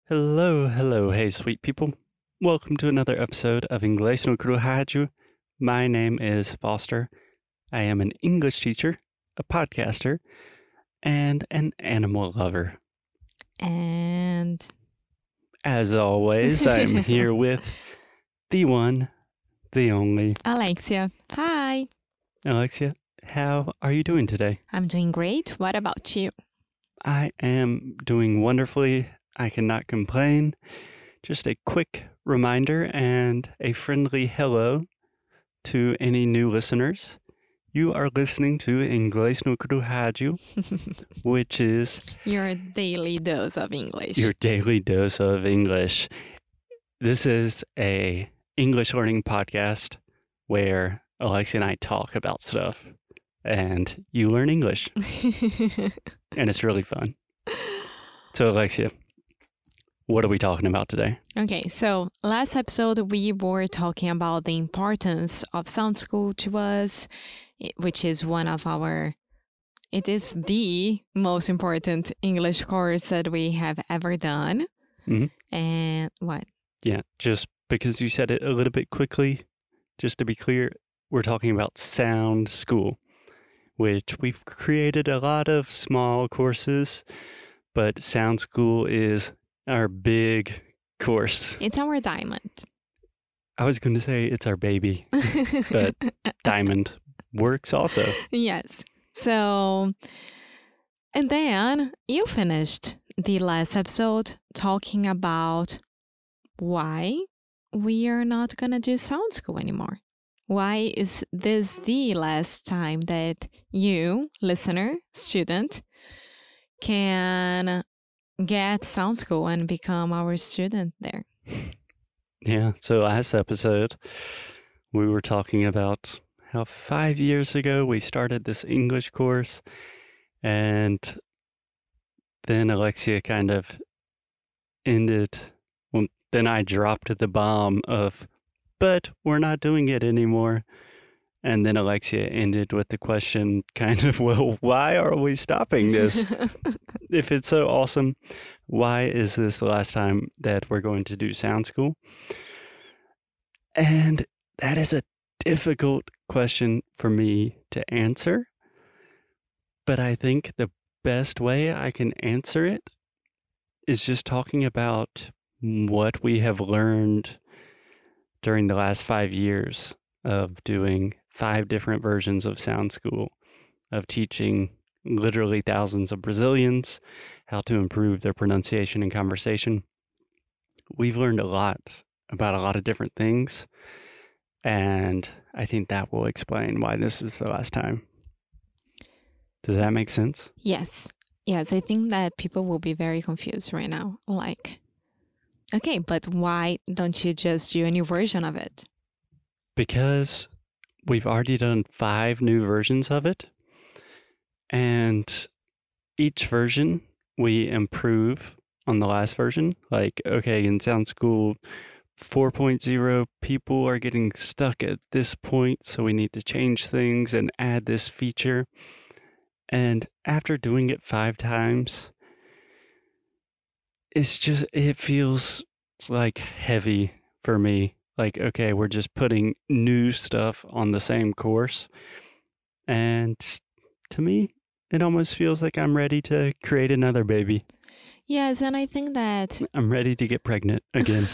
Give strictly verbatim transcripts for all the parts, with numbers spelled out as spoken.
Hello, hello, hey, sweet people. Welcome to another episode of Inglês no Cru Rádio. My name is Foster. I am an English teacher, a podcaster, and an animal lover. And as always, I'm here with the one, the only Alexia. Hi. Alexia. How are you doing today? I'm doing great. What about you? I am doing wonderfully. I cannot complain. Just a quick reminder and a friendly hello to any new listeners. You are listening to Inglês no Cru Rádio, which is your daily dose of English. Your daily dose of English. This is a English learning podcast where Alexia and I talk about stuff and you learn English. And it's really fun. So Alexia, what are we talking about today? Okay, so last episode we were talking about the importance of Sound School to us, which is one of our, it is the most important English course that we have ever done. Mm-hmm. And what? Yeah, just because you said it a little bit quickly, just to be clear, we're talking about Sound School, which we've created a lot of small courses, but Sound School is our big course. It's our diamond. I was going to say it's our baby, but diamond works also. Yes. So, and then you finished the last episode talking about why we are not going to do Sound School anymore. Why is this the last time that you, listener, student, can get Sound School and become our student there? Yeah, so last episode, we were talking about how five years ago we started this English course, and then Alexia kind of ended, well, then I dropped the bomb of, but we're not doing it anymore. And then Alexia ended with the question kind of, well, why are we stopping this? If it's so awesome, why is this the last time that we're going to do Sound School? And that is a difficult question for me to answer. But I think the best way I can answer it is just talking about what we have learned during the last five years of doing five different versions of Sound School, of teaching literally thousands of Brazilians how to improve their pronunciation and conversation. We've learned a lot about a lot of different things, and I think that will explain why this is the last time. Does that make sense? Yes. Yes, I think that people will be very confused right now. Like, okay, but why don't you just do a new version of it? Because we've already done five new versions of it. And each version we improve on the last version. Like, okay, in Sound School four point oh, people are getting stuck at this point, so we need to change things and add this feature. And after doing it five times, it's just, it feels like heavy for me. Like, okay, we're just putting new stuff on the same course. And to me, it almost feels like I'm ready to create another baby. Yes, and I think that I'm ready to get pregnant again.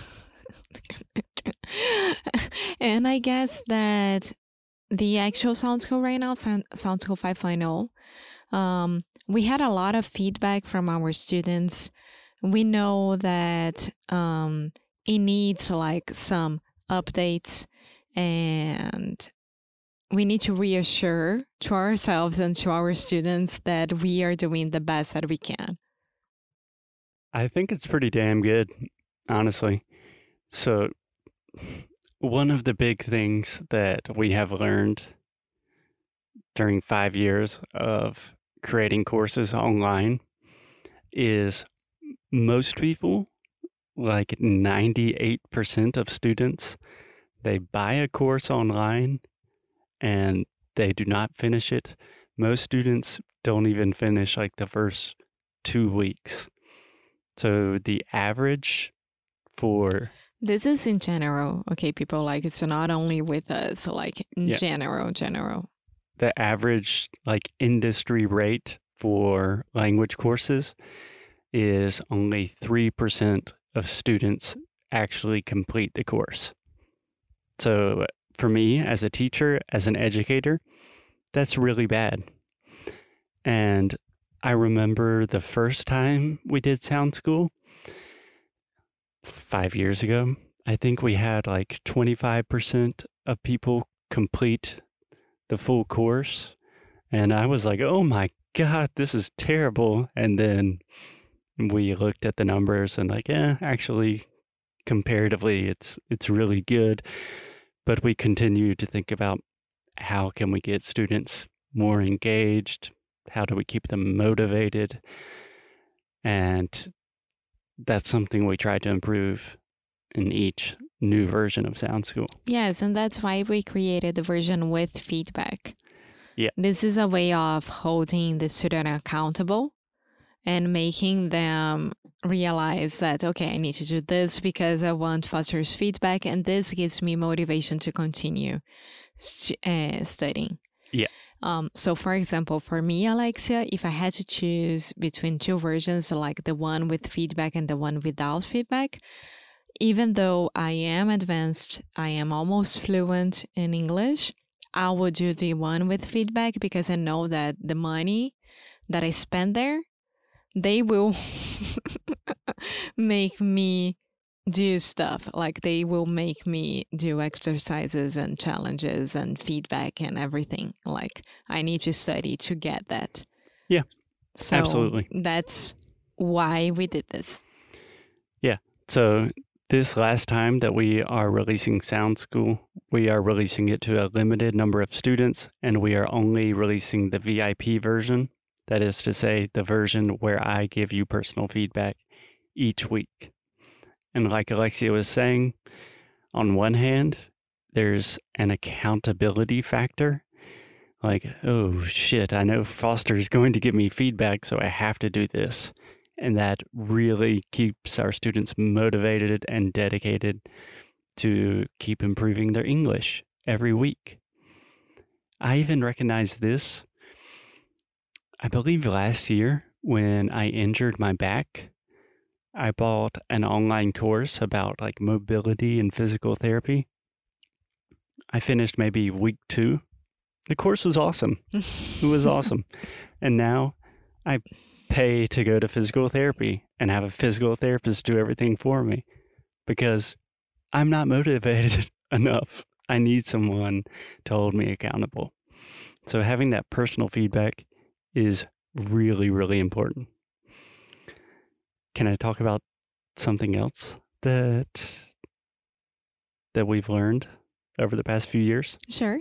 And I guess that the actual Sound School right now, Sound, Sound School five point oh, um, we had a lot of feedback from our students. We know that um, it needs like some updates, and we need to reassure to ourselves and to our students that we are doing the best that we can. I think it's pretty damn good, honestly. So one of the big things that we have learned during five years of creating courses online is most people, like ninety-eight percent of students, they buy a course online and they do not finish it. Most students don't even finish like the first two weeks. So the average for This is in general, okay, people, like it's not only with us, like in Yeah. general, general. the average like industry rate for language courses is only three percent of students actually complete the course. So for me as a teacher, as an educator, that's really bad. And I remember the first time we did Sound School five years ago, I think we had like twenty-five percent of people complete the full course. And I was like, oh my God, this is terrible. And then we looked at the numbers and like, eh, actually, comparatively, it's it's really good. But we continue to think about how can we get students more engaged? How do we keep them motivated? And that's something we try to improve in each new version of Sound School. Yes, and that's why we created the version with feedback. Yeah. This is a way of holding the student accountable and making them realize that, okay, I need to do this because I want fosters feedback, and this gives me motivation to continue st- uh, studying. Yeah. Um, so, for example, for me, Alexia, if I had to choose between two versions, like the one with feedback and the one without feedback, even though I am advanced, I am almost fluent in English, I will do the one with feedback because I know that the money that I spend there, they will make me do stuff. Like they will make me do exercises and challenges and feedback and everything. Like I need to study to get that. Yeah, so absolutely. That's why we did this. Yeah. So this last time that we are releasing Sound School, we are releasing it to a limited number of students, and we are only releasing the V I P version. That is to say, the version where I give you personal feedback each week. And like Alexia was saying, on one hand, there's an accountability factor. Like, oh shit, I know Foster's going to give me feedback, so I have to do this. And that really keeps our students motivated and dedicated to keep improving their English every week. I even recognize this. I believe last year when I injured my back, I bought an online course about like mobility and physical therapy. I finished maybe week two. The course was awesome. It was awesome. And now I pay to go to physical therapy and have a physical therapist do everything for me because I'm not motivated enough. I need someone to hold me accountable. So having that personal feedback is really, really important. Can I talk about something else that that we've learned over the past few years? Sure.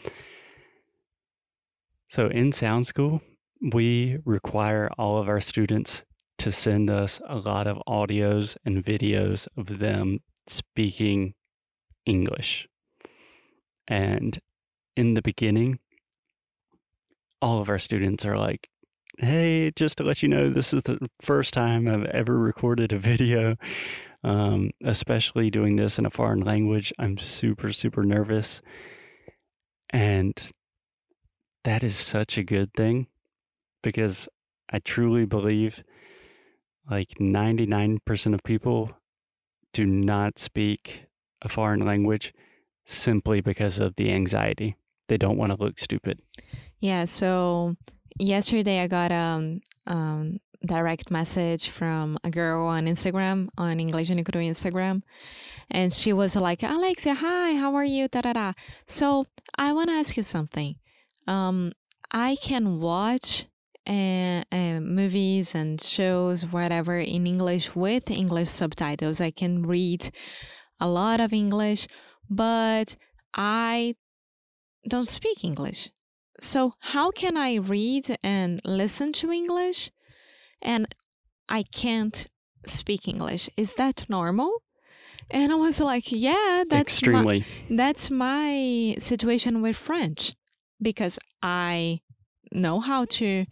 So in Sound School, we require all of our students to send us a lot of audios and videos of them speaking English. And in the beginning, all of our students are like, hey, just to let you know, this is the first time I've ever recorded a video, um, especially doing this in a foreign language. I'm super, super nervous. And that is such a good thing because I truly believe like ninety-nine percent of people do not speak a foreign language simply because of the anxiety. They don't want to look stupid. Yeah, so yesterday I got a um, um, direct message from a girl on Instagram, on English and Cru Instagram, and she was like, Alexia, hi, how are you? Da, da, da. So I want to ask you something. Um, I can watch uh, uh, movies and shows, whatever, in English with English subtitles. I can read a lot of English, but I don't speak English. So how can I read and listen to English and I can't speak English? Is that normal? And I was like, yeah, that's extremely. My, that's my situation with French because I know how to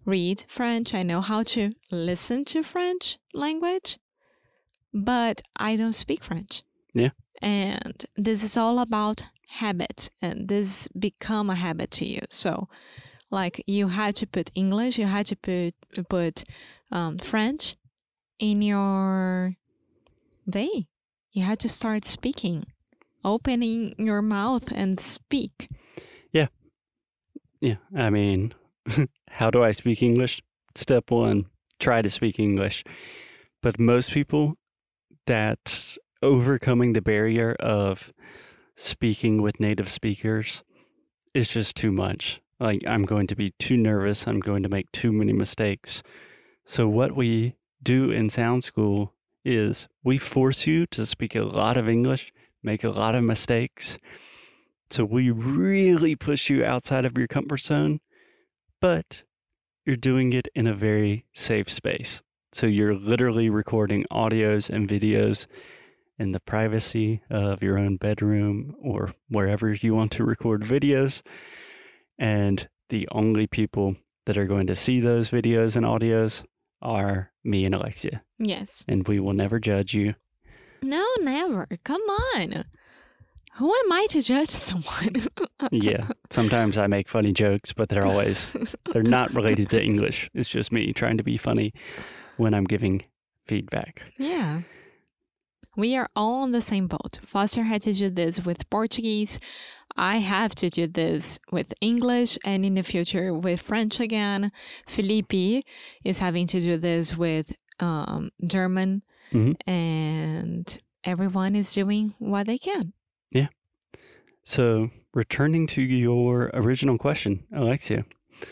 read French. I know how to listen to French language, but I don't speak French. Yeah. And this is all about habit, and this become a habit to you. So like you had to put English, you had to put put um, French in your day. You had to start speaking, opening your mouth and speak. Yeah. Yeah. I mean, how do I speak English? Step one, try to speak English. But most people, that overcoming the barrier of speaking with native speakers is just too much. Like, I'm going to be too nervous. I'm going to make too many mistakes. So what we do in Sound School is we force you to speak a lot of English, make a lot of mistakes. So we really push you outside of your comfort zone, but you're doing it in a very safe space. So you're literally recording audios and videos in the privacy of your own bedroom or wherever you want to record videos. And the only people that are going to see those videos and audios are me and Alexia. Yes. And we will never judge you. No, never. Come on. Who am I to judge someone? Yeah. Sometimes I make funny jokes, but they're always, they're not related to English. It's just me trying to be funny when I'm giving feedback. Yeah. We are all on the same boat. Foster had to do this with Portuguese. I have to do this with English, and in the future with French again. Felipe is having to do this with um, German, Mm-hmm. and everyone is doing what they can. Yeah. So returning to your original question, Alexia,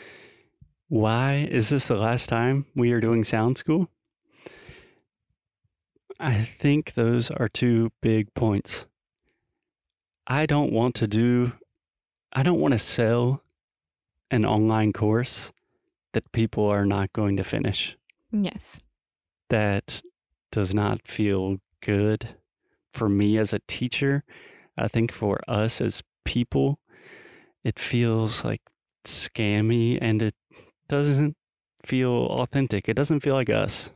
why is this the last time we are doing Sound School? I think those are two big points. I don't want to do, I don't want to sell an online course that people are not going to finish. Yes. That does not feel good for me as a teacher. I think for us as people, it feels like scammy and it doesn't feel authentic. It doesn't feel like us.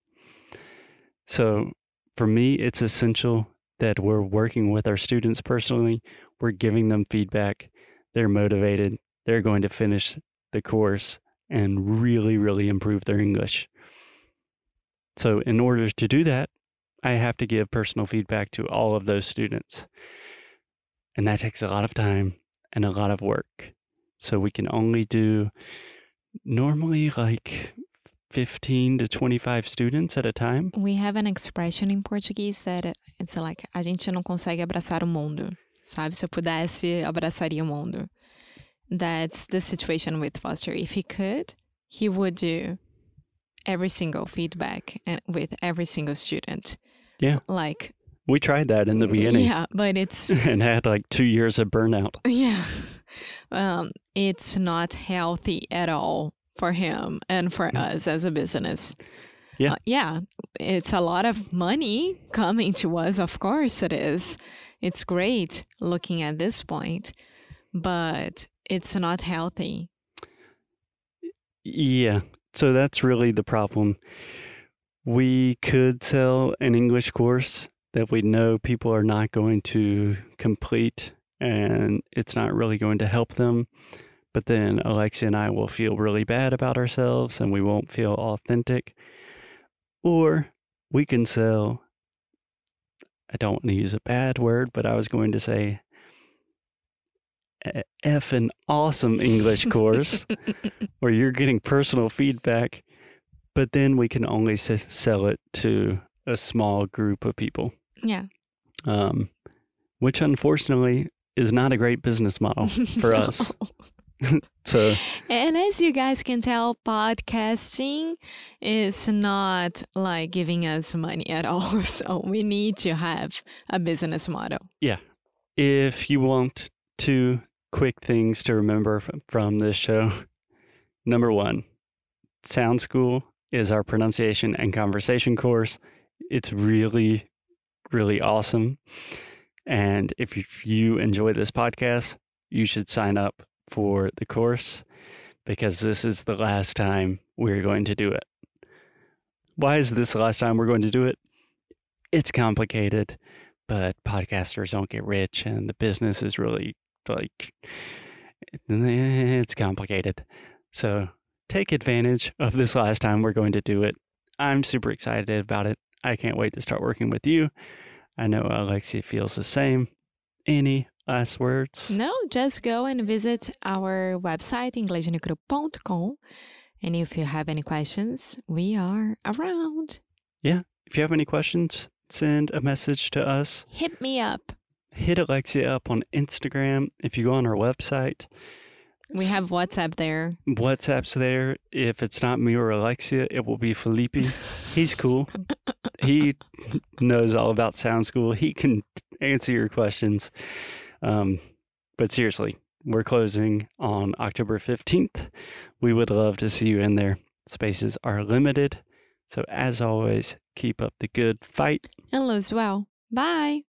So for me, it's essential that we're working with our students personally. We're giving them feedback. They're motivated. They're going to finish the course and really, really improve their English. So in order to do that, I have to give personal feedback to all of those students. And that takes a lot of time and a lot of work. So we can only do normally like fifteen to twenty-five students at a time. We have an expression in Portuguese that it's like, a gente não consegue abraçar o mundo. Sabe? Se eu pudesse, abraçaria o mundo. That's the situation with Foster. If he could, he would do every single feedback and with every single student. Yeah. Like, we tried that in the beginning. Yeah, but it's and had like two years of burnout. Yeah. Um, it's not healthy at all for him and for us as a business. Yeah. Uh, yeah. It's a lot of money coming to us. Of course it is. It's great looking at this point, but it's not healthy. Yeah. So that's really the problem. We could sell an English course that we know people are not going to complete and it's not really going to help them. But then Alexia and I will feel really bad about ourselves and we won't feel authentic. Or we can sell, I don't want to use a bad word, but I was going to say a effing awesome English course where you're getting personal feedback, but then we can only s- sell it to a small group of people. Yeah. Um, which unfortunately is not a great business model for us. So, and as you guys can tell, podcasting is not like giving us money at all. So we need to have a business model. Yeah. If you want two quick things to remember f- from this show, number one, Sound School is our pronunciation and conversation course. It's really, really awesome. And if you enjoy this podcast, you should sign up for the course because this is the last time we're going to do it. Why is this the last time we're going to do it? It's complicated, but podcasters don't get rich, and the business is really like, it's complicated. So take advantage of this last time we're going to do it. I'm super excited about it. I can't wait to start working with you. I know Alexia feels the same. Any last words? No, just go and visit our website, inglês no cru dot com. And if you have any questions, we are around. Yeah. If you have any questions, send a message to us. Hit me up. Hit Alexia up on Instagram. If you go on our website, we have WhatsApp there. WhatsApp's there. If it's not me or Alexia, it will be Felipe. He's cool. He knows all about Sound School. He can answer your questions. Um, but seriously, we're closing on October fifteenth. We would love to see you in there. Spaces are limited. So as always, keep up the good fight. And lose well. Bye.